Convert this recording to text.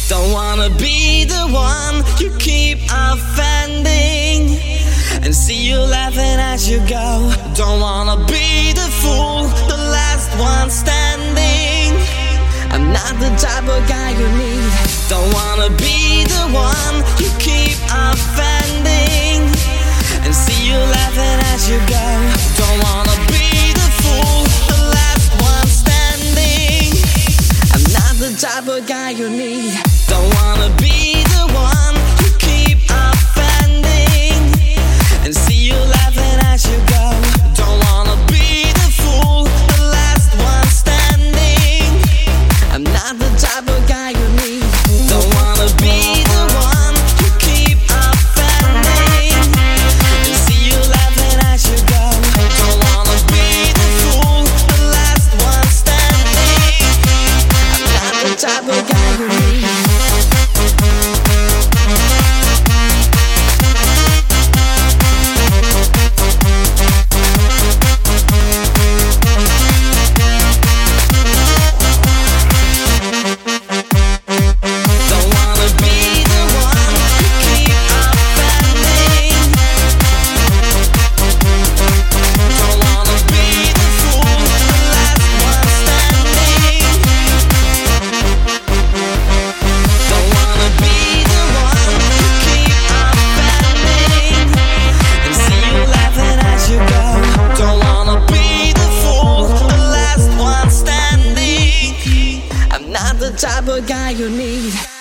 Don't wanna be the one you keep offending and see you laughing as you go. Don't wanna be the fool, the last one standing. I'm not the type of guy you need. Don't wanna be the one you keep offending and see you laughing as you go. Don't wanna be the fool, the last one standing. I'm not the type of guy you need. Don't wanna be the one you keep offending and see you laughing as you go. Don't wanna be the fool, the last one standing. I'm not the type of guy you need. Don't wanna be the one you keep offending and see you laughing as you go. Don't wanna be the fool, the last one standing. I'm not the type of guy you need. Type of guy you need.